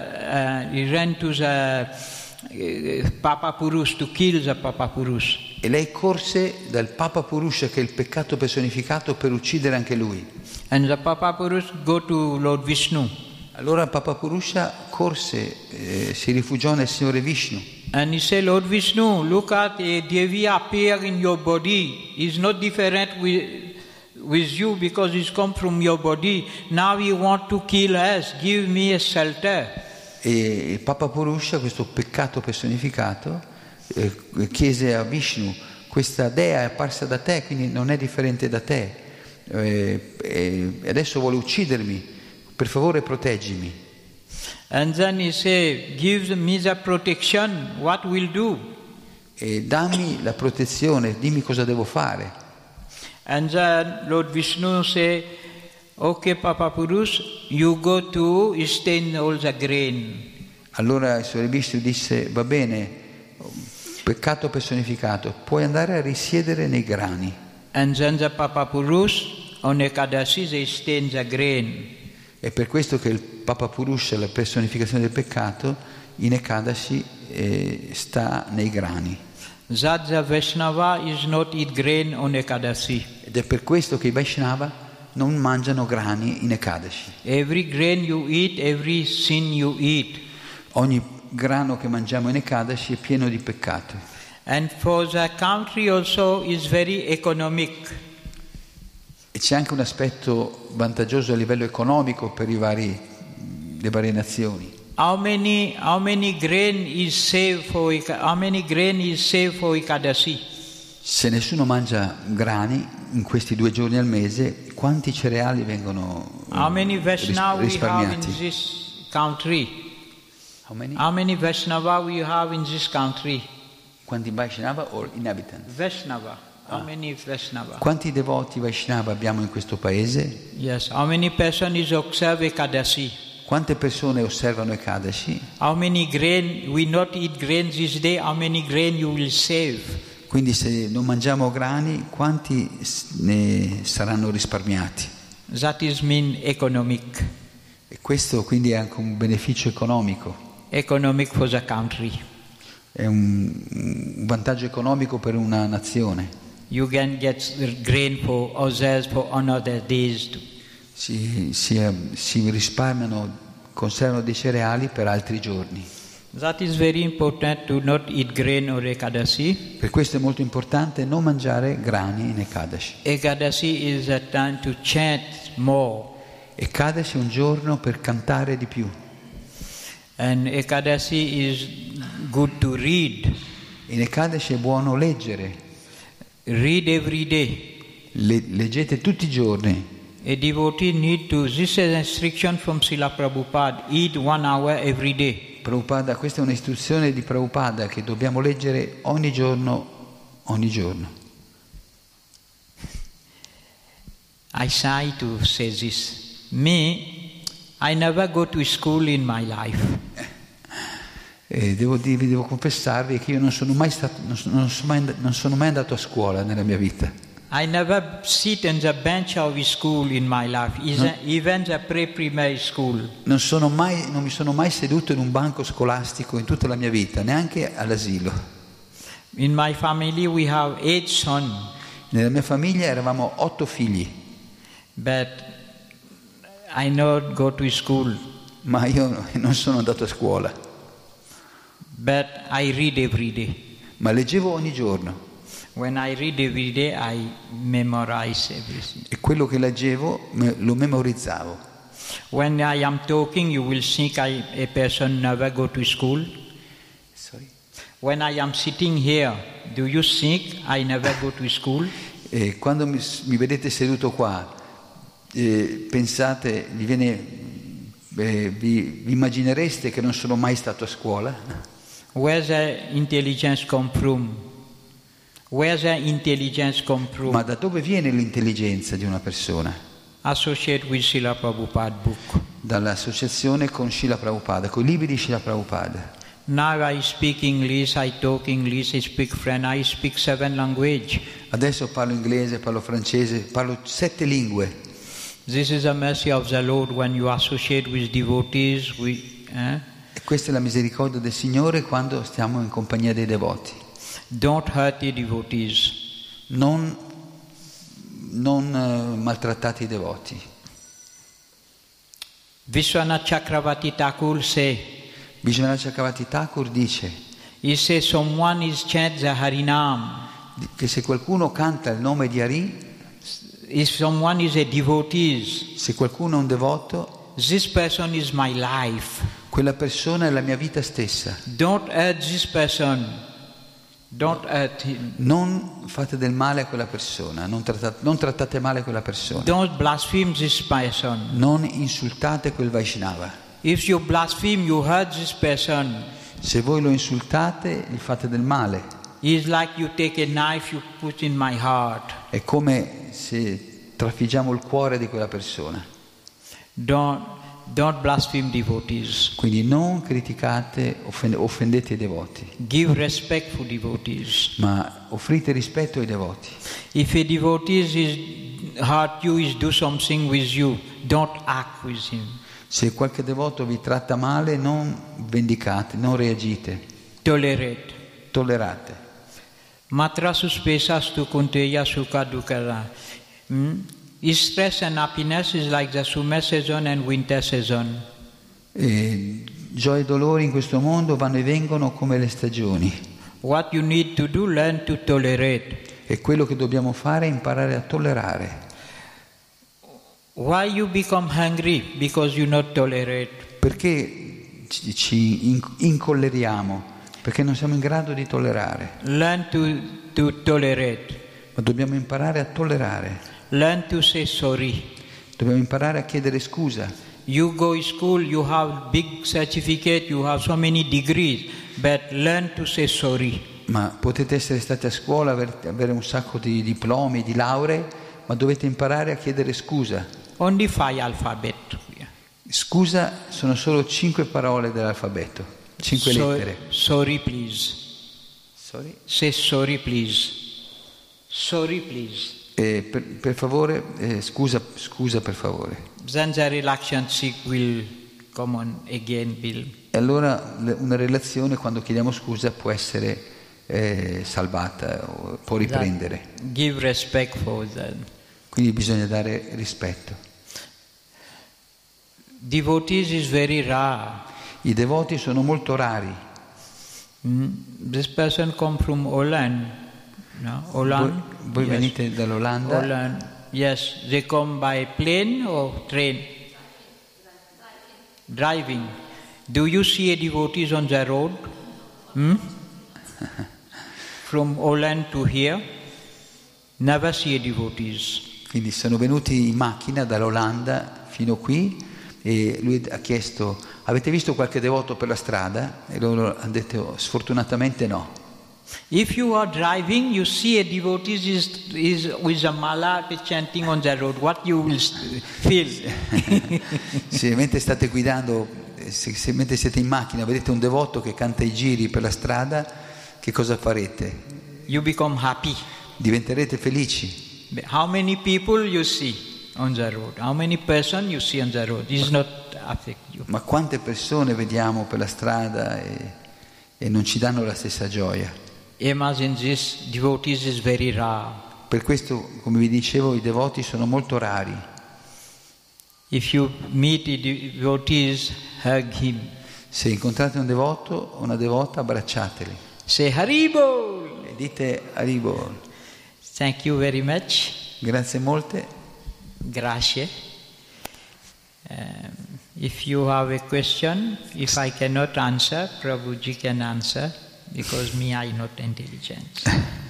the Papa Purush to kill the Papa Purush. E lei corse dal Papa Purusha, che è il peccato personificato, per uccidere anche lui. And the Papa Purush go to Lord Vishnu. Allora Papa Purusha corse, si rifugiò nel Signore Vishnu. And he said, Lord Vishnu, look at a Devi appear in your body. He's not different with you because he's come from your body. Now you want to kill us. Give me a shelter. E Papa Purusha, questo peccato personificato, chiese a Vishnu, questa dea è apparsa da te, quindi non è differente da te, e adesso vuole uccidermi, per favore proteggimi. And then he said, give me the protection, what will do? E dammi la protezione, dimmi cosa devo fare. And then Lord Vishnu said, okay, Papa Purush, you go to stain all the grain. Allora il Signore Vishnu disse, va bene, peccato personificato, puoi andare a risiedere nei grani. And then the Papa Purush on Ekadashi they stain the grain. È per questo che il Papa Purusha, la personificazione del peccato, in Ekadashi sta nei grani. That the Vaishnava is not eat grain on Ekadasi. Ed è per questo che i Vaishnava non mangiano grani in Ekadashi. Every grain you eat, every sin you eat. Ogni grano che mangiamo in Ekadashi è pieno di peccato. And for the country also is very economic. E c'è anche un aspetto vantaggioso a livello economico per le varie nazioni. How many grain is saved for Ekadasi? Se nessuno mangia grani in questi 2 giorni al mese, quanti cereali vengono How many Vaishnava we have in risparmiati? this country? How many? How many Vaishnava we have in this country? Quanti Vaishnava or inhabitants? Vaishnava. How many Vaishnava? Quanti devoti Vaishnava abbiamo in questo paese? Yes. How many person is observe Ekadasi? Quante persone osservano Ekadashi? How many grain we not eat grain this day? How many grain you will save? Quindi se non mangiamo grani, quanti ne saranno risparmiati? That is mean economic. E questo quindi è anche un beneficio economico. Economic for the country. È un vantaggio economico per una nazione. You can get grain for others for another days. Si risparmiano, conservano dei cereali per altri giorni. That is very important to not eat grain or Ekadasi. Per questo è molto importante non mangiare grani in Ekadashi. Ekadasi is a time to chant more. Ekadashi è un giorno per cantare di più. And Ekadasi is good to read. In Ekadashi è buono leggere. Read every day. Leggete tutti i giorni. A devotee need to, this is an instruction from Srila Prabhupada, eat 1 hour every day. Prabhupada, questa è un'istruzione di Prabhupada che dobbiamo leggere ogni giorno. I shy to say this. Me, I never go to school in my life. Devo confessarvi che io non sono mai andato a scuola nella mia vita. I never sit on the bench of school in my life, even the pre-primary school. Non mi sono mai seduto in un banco scolastico in tutta la mia vita, neanche all'asilo. In my family we have 8 sons. Nella mia famiglia eravamo 8 figli. But I not go to school. Ma io non sono andato a scuola. But I read every day. Ma leggevo ogni giorno. When I read every day, I memorize everything. E quello che leggevo lo memorizzavo. When I am talking, you will think a person never go to school. Sorry? When I am sitting here, do you think I never go to school? E quando mi vedete seduto qua, pensate, vi immaginereste che non sono mai stato a scuola? Where the intelligence come from? Where the intelligence come from? Ma da dove viene l'intelligenza di una persona? Associate with Srila Prabhupada book. Dall'associazione con Srila Prabhupada, con i libri di Srila Prabhupada. Now I speak English, I talk English, I speak French, I speak 7 languages. Adesso parlo inglese, parlo francese, parlo 7 lingue. This is the mercy of the Lord when you associate with devotees. E questa è la misericordia del Signore quando stiamo in compagnia dei devoti. Don't hurt the devotees. Non maltrattate i devoti. Vishwanath Chakravarti Thakur say. Vishwanath Chakravarti Thakur dice. He says someone is chant the Harinam. Che se qualcuno canta il nome di Hari, if someone is a devotee, se qualcuno è un devoto, this person is my life. Quella persona è la mia vita stessa. Don't hurt this person. Don't hurt him. Non fate del male a quella persona, non trattate male quella persona. Don't blaspheme this person. Non insultate quel Vaishnava. If you blaspheme, you hurt this person. Se voi lo insultate, gli fate del male. It's like you take a knife, you put in my heart. È come se trafiggiamo il cuore di quella persona. Don't blaspheme devotees. Quindi non criticate, offendete i devoti. Give respect for devotees. Ma offrite rispetto ai devoti. If a devotee is hurt you, is do something with you, don't act with him. Se qualche devoto vi tratta male, non vendicate, non reagite. Tolerate. Tollerate. Matra suspesastu kunteya sukha dukkara. Stress and happiness is like the summer season and winter season. Gioia e dolori in questo mondo vanno e vengono come le stagioni. What you need to do, learn to tolerate. E quello che dobbiamo fare è imparare a tollerare. Why you become hungry? Because you not tolerate. Perché ci incolleriamo? Perché non siamo in grado di tollerare. Learn to tolerate. Ma dobbiamo imparare a tollerare. Learn to say sorry. Dobbiamo imparare a chiedere scusa. You go to school, you have big certificate, you have so many degrees, but learn to say sorry. Ma potete essere stati a scuola, avere un sacco di diplomi, di lauree, ma dovete imparare a chiedere scusa. Only 5 alphabet. Scusa sono solo 5 parole dell'alfabeto, 5 lettere. Sorry, please. Sorry? Say sorry, please. Sorry, please. Per favore, scusa per favore. Then the relationship will come on again, Bill. E allora una relazione, quando chiediamo scusa, può essere salvata, può riprendere. Give respect for that. Quindi bisogna dare rispetto. Devotees is very rare. I devoti sono molto rari. This person come from Holland. No? Holland? Voi Yes. venite dall'Olanda? Holland. Yes. They come by plane or train? Driving. Do you see a devotees on the road? From Holland to here? Never see a devotees. Quindi sono venuti in macchina dall'Olanda fino qui e lui ha chiesto: avete visto qualche devoto per la strada? E loro hanno detto: sfortunatamente no. If you are driving, you see a devotee is with a mala chanting on the road. What you will feel? Se mentre state guidando, se mentre siete in macchina vedete un devoto che canta i giri per la strada, che cosa farete? You become happy. Diventerete felici. How many people you see on the road? How many person you see on the road? It does not affect you. Ma quante persone vediamo per la strada e non ci danno la stessa gioia? Imagine this, devotees is very rare. Per questo, come vi dicevo, i devoti sono molto rari. If you meet a devotees, hug him. Se incontrate un devoto o una devota, abbracciateli. Say Haribol. E dite Haribol. Thank you very much. Grazie molte. Grazie. If you have a question, if I cannot answer, Prabhuji can answer, because me I not intelligent.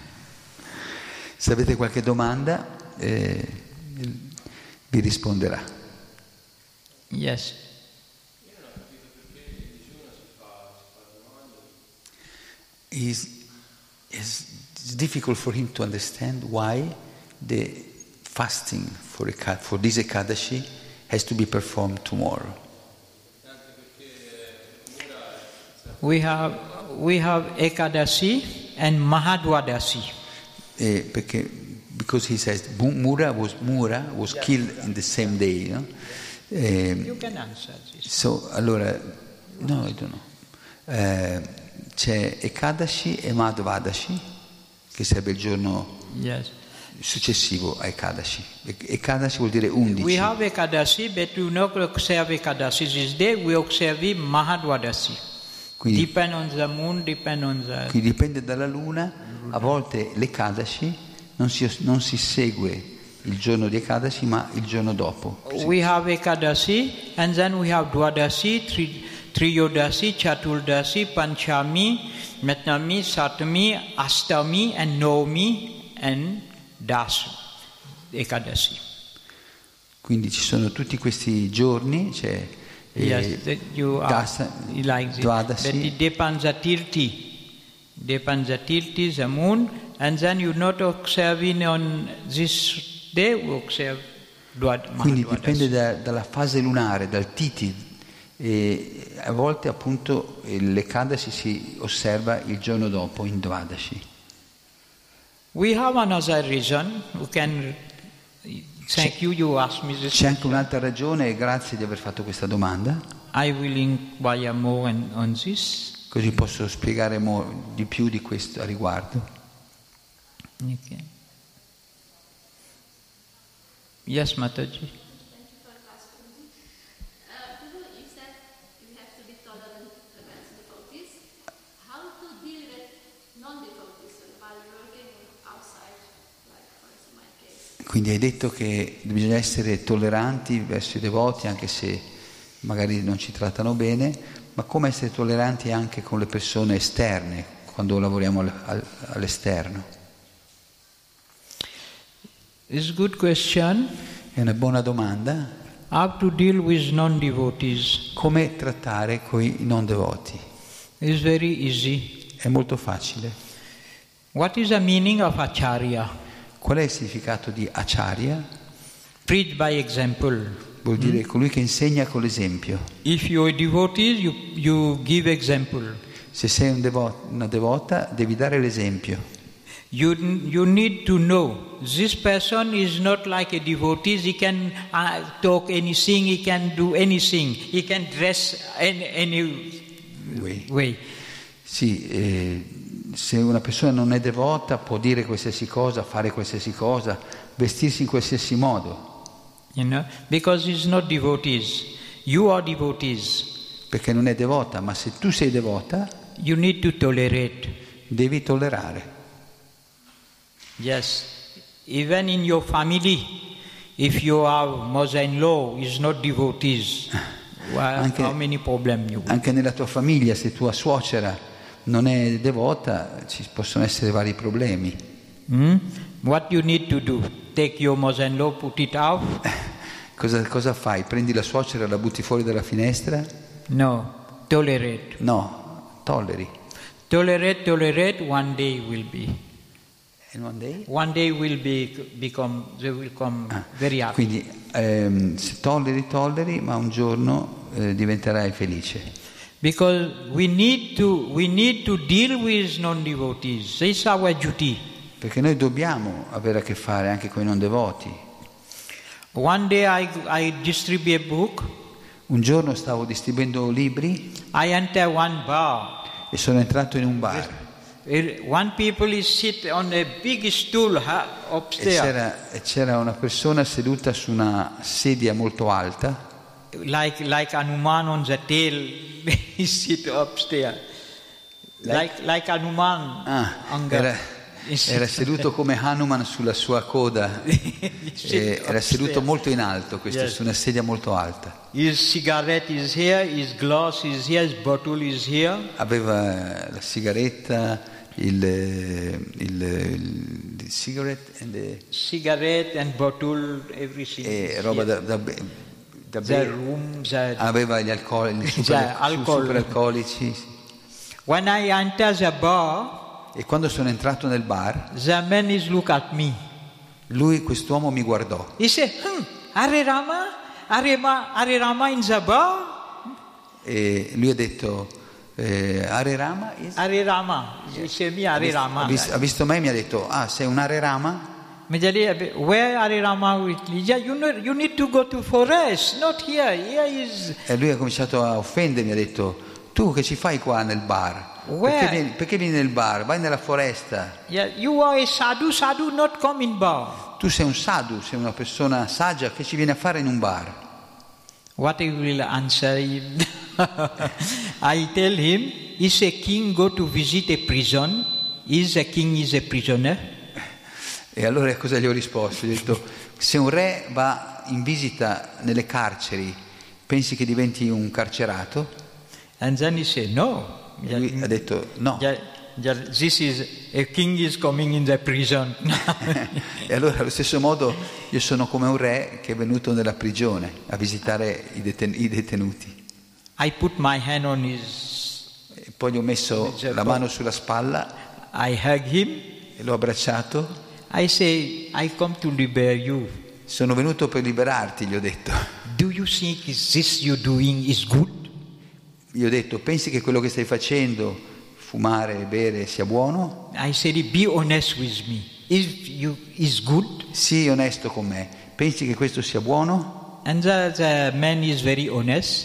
Se avete qualche domanda, vi risponderà. Yes. It's difficult for him to understand why the fasting for this Ekadashi has to be performed tomorrow. We have Ekadasi and Mahadwadasi. Because he says Mura was killed in the same day. No? You can answer this. So, allora, no, I don't know. C'è Ekadashi e Madhvadashi, che sarebbe il giorno successivo a Ekadashi. Ekadashi vuol dire 11. We have Ekadashi, but we not observe Ekadashi this day, we observe Mahadwadasi. Quindi, depend on the moon, depend on the... Quindi dipende dalla luna, a volte l'Ekadashi non si segue il giorno di Ekadashi, ma il giorno dopo. We have Ekadashi, and then we have Dwadasi, Triyodasi, Chaturdasi, Panchami, Metnami, Satami, Astami, and Nomi, and Das, Ekadasi. Quindi ci sono tutti questi giorni, c'è Dasa, like Dwadasi. But it depends on the Tirti, the moon, and then you not observing on this day, we observe Dwadasi. Quindi dipende dalla fase lunare, dal Titi. E a volte appunto l'Ekadashi si osserva il giorno dopo in Dvadashi. We have another reason. We can thank you. You asked me this. C'è anche un'altra ragione e grazie di aver fatto questa domanda. I will inquire more on this. così posso spiegare di più di questo a riguardo. Okay. Yes, Mataji. Quindi hai detto che bisogna essere tolleranti verso i devoti anche se magari non ci trattano bene, ma come essere tolleranti anche con le persone esterne quando lavoriamo all'esterno? It's a good question. È una buona domanda. How to deal with non-devotees? Come trattare con i non devoti? It's very easy. È molto facile. What is the meaning of acharya? Qual è il significato di acharya? Preach by example. Vuol dire colui che insegna con l'esempio. If you are devotees, you give example. Se sei una devota, devi dare l'esempio. You need to know this person is not like a devotee. He can talk anything. He can do anything. He can dress any way. Sì. Se una persona non è devota può dire qualsiasi cosa, fare qualsiasi cosa, vestirsi in qualsiasi modo. You know, because it's not devotees. You are devotees. Perché non è devota, ma se tu sei devota, you need to tolerate. Devi tollerare. Yes. Even in your family, if your mother-in-law is not devotees, how many problems you will? Anche nella tua famiglia, se tua suocera non è devota, ci possono essere vari problemi. What you need to do? Take your mother-in-law, put it out? Cosa fai? Prendi la suocera e la butti fuori dalla finestra? No, tolerate. No, tolleri. Tolerate, one day will be. And one day? One day they will come very happy. Quindi se tolleri, ma un giorno diventerai felice. Because we need to deal with non-devotees. It's our duty. Perché noi dobbiamo avere a che fare anche con i non devoti. One day I distribute a book. Un giorno stavo distribuendo libri. I enter one bar. E sono entrato in un bar. One people is sit on a big stool upstairs. E c'era una persona seduta su una sedia molto alta. Like Hanuman on the tail, he sit upstairs. Like Hanuman. Era seduto come Hanuman sulla sua coda. Era seduto molto in alto, questo su una sedia molto alta. His cigarette is here, his glass is here, his bottle is here. Aveva la sigaretta, il cigarette and bottle, everything. E roba da aveva gli superalcolici. When I enter the bar, e quando sono entrato nel bar, the man is look at me. Quest'uomo mi guardò. He said, Hare Rama in the bar? E lui ha detto, Hare Rama? Hare Rama. Ha visto me e mi ha detto, sei un Hare Rama? Where Hare Rama with Lija? You need to go to forest, not here. Here is. E lui ha cominciato a offendermi, ha detto, tu che ci fai qua nel bar? Perché vieni nel bar? Vai nella foresta. Yeah, you are a sadhu, not come in bar. Tu sei un sadhu, sei una persona saggia, che ci viene a fare in un bar? What I will answer him? I tell him, is a king go to visit a prison? Is a king is a prisoner? E allora cosa gli ho risposto? Gli ho detto, se un re va in visita nelle carceri, pensi che diventi un carcerato? And then he said, no. E lui ha detto, no. This is a king is coming in the prison. E allora allo stesso modo io sono come un re che è venuto nella prigione a visitare i detenuti. I put my hand on his. E poi gli ho messo la mano sulla spalla. I hug him. E l'ho abbracciato. I say, I come to liberate you. Sono venuto per liberarti, gli ho detto. Do you think this you're doing is good? Gli ho detto, pensi che quello che stai facendo, fumare e bere, sia buono? I said, be honest with me. Is good? Sii onesto con me. Pensi che questo sia buono? And the man is very honest.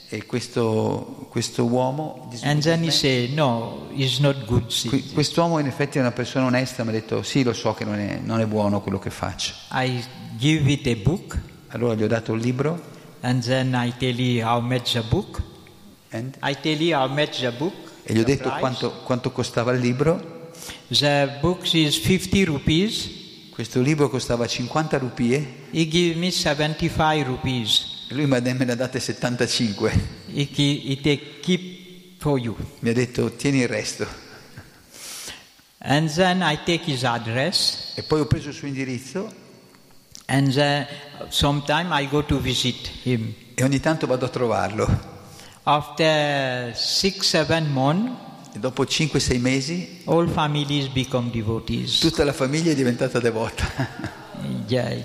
E questo uomo, And then he said, no, it's not good. quest'uomo in effetti è una persona onesta, mi ha detto sì, lo so che non è buono quello che faccio. I give it a book, Allora gli ho dato il libro. and then I tell you how much the book. I tell you how much the book. E gli ho the detto price. quanto costava il libro. The book is 50 rupees. Questo libro costava 50 rupie He gave me 75 rupees. e lui me ne ha date 75. He take keep for you. Mi ha detto tieni il resto. And then I take his address, E poi ho preso il suo indirizzo and sometime I go to visit him. e ogni tanto vado a trovarlo. After 6-7 months, E dopo 5-6 mesi all families become devotees. tutta la famiglia è diventata devota. Yeah.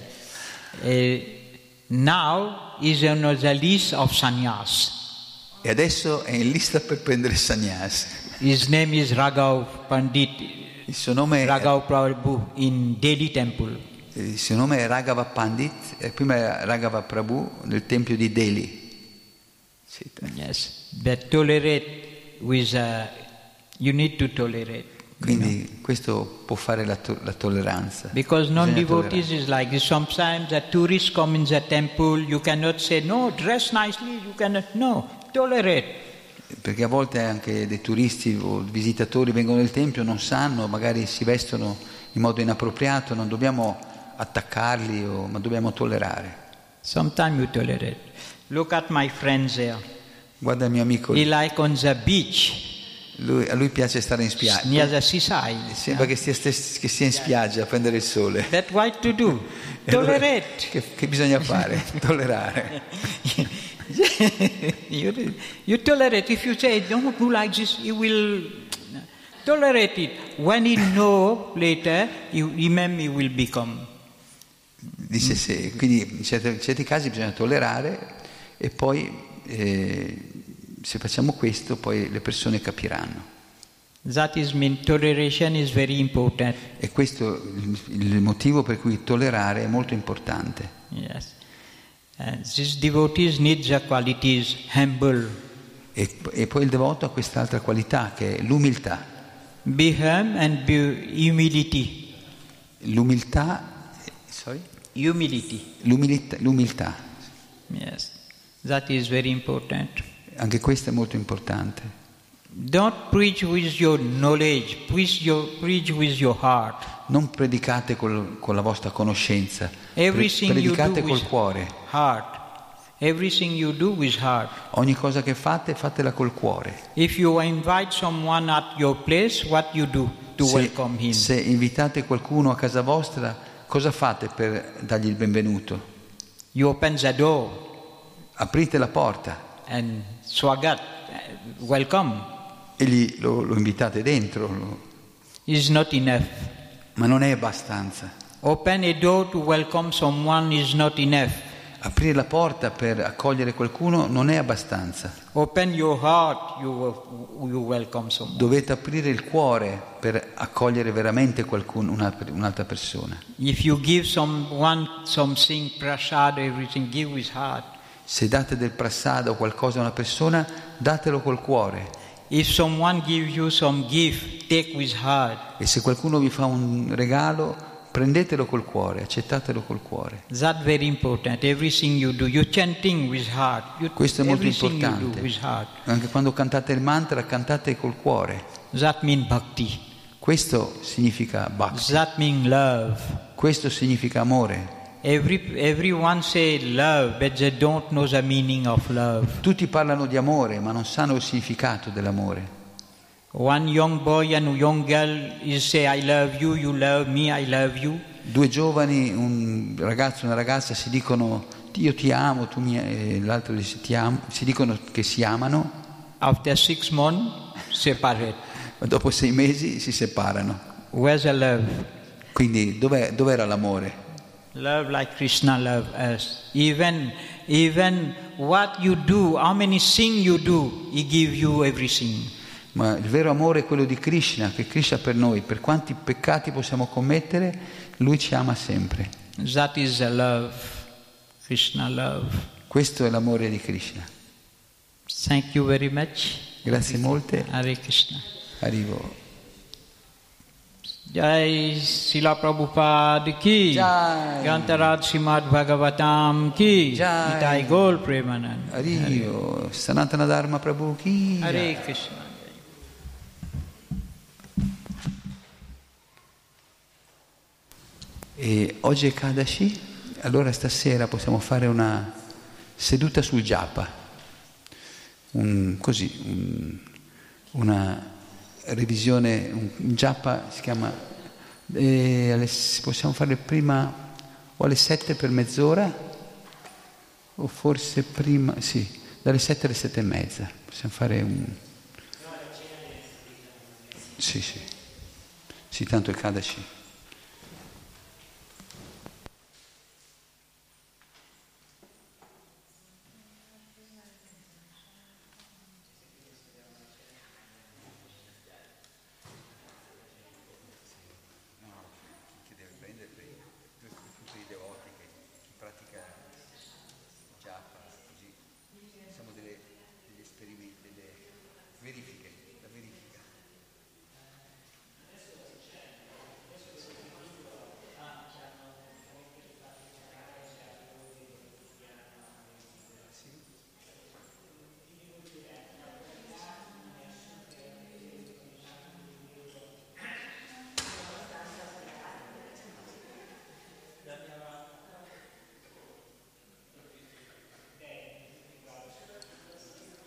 Now is on the list of sannyas. E adesso è in lista per prendere il sannyas. His name is Raghav Pandit, Il suo nome Raghav Prabhu in Delhi Temple. è Raghava Pandit, e prima era Raghava Prabhu nel tempio di Delhi. Sì. Yes, but tolerate with you need to tolerate. Quindi questo può fare la tolleranza. Because Bisogna non-devotees is like this. Sometimes the tourists come in the temple, you cannot say, no, dress nicely, you cannot, no, tolerate. Perché a volte anche dei turisti o visitatori vengono nel tempio, non sanno, magari si vestono in modo inappropriato, non dobbiamo attaccarli, ma dobbiamo tollerare. Sometimes you tolerate. Look at my friends there. Guarda il mio amico, He like on the beach, a lui piace stare in spiaggia. near the seaside. Sembra che sia in spiaggia a prendere il sole. That's what to do. E allora, Tolerate. che bisogna fare? Tollerare. You tolerate. If you say, don't do like this, you will tolerate it. When you know later, you remember you will become. Dice se, quindi in certi casi bisogna tollerare e poi se facciamo questo poi le persone capiranno. That is mean toleration is very important. E questo è il motivo per cui tollerare è molto importante. Yes. And these devotees need the qualities humble. E poi il devoto ha quest'altra qualità che è l'umiltà. Be humble and be humility. L'umiltà. Yes. That is very important. Anche questo è molto importante. Don't preach with your knowledge, preach with your heart. Non predicate con la vostra conoscenza, Everything predicate you do col with cuore. Heart. Everything you do with heart. Ogni cosa che fate, fatela col cuore. If you invite someone at your place, what you do to welcome him? Se invitate qualcuno a casa vostra, cosa fate per dargli il benvenuto? You open the door Aprite la porta and swagat, welcome. e lo invitate dentro. Is not enough. Ma non è abbastanza. Open a door to welcome someone is not enough. Aprire la porta per accogliere qualcuno non è abbastanza. Open your heart, you welcome someone. Dovete aprire il cuore per accogliere veramente qualcuno, un'altra persona. If you give someone something, prasad, everything, give with heart. Se date del prasada o qualcosa a una persona, datelo col cuore. If someone gives you some gift, take with heart. E se qualcuno vi fa un regalo, prendetelo col cuore, accettatelo col cuore. That's very important. Everything you do, you're chanting with heart. Questo è molto everything importante. You do with heart. Anche quando cantate il mantra, cantate col cuore. That means bhakti. Questo significa bhakti. That means love. Questo significa amore. Everyone say love, but they don't know the meaning of love. Tutti parlano di amore, ma non sanno il significato dell'amore. One young boy and young girl is say I love you, you love me, I love you. Due giovani, un ragazzo e una ragazza si dicono io ti amo, l'altro dice ti amo, si dicono che si amano. After 6 months, separate. Ma dopo 6 mesi si separano. Where's the love? Quindi dov'era l'amore? Love like Krishna love us. Even what you do, how many things you do, He give you everything. Ma il vero amore è quello di Krishna, che Krishna per noi, per quanti peccati possiamo commettere, Lui ci ama sempre. That is the love, Krishna love. Questo è l'amore di Krishna. Thank you very much. Grazie molte. Hare Krishna. Arrivo. Jai Srila Prabhupada ki, Jai. Grantaraj Srimad Bhagavatam ki, Jai. Nitai Gaur Premanand. Arrivo. Sanatana Dharma Prabhu chi. Hare Krishna. E oggi è Kadashi, allora stasera possiamo fare una seduta sul japa, una revisione, un japa si chiama, possiamo fare prima o alle 7 per mezz'ora, o forse prima, sì, dalle 7 alle 7 e mezza, possiamo fare un... Sì, tanto è Kadashi.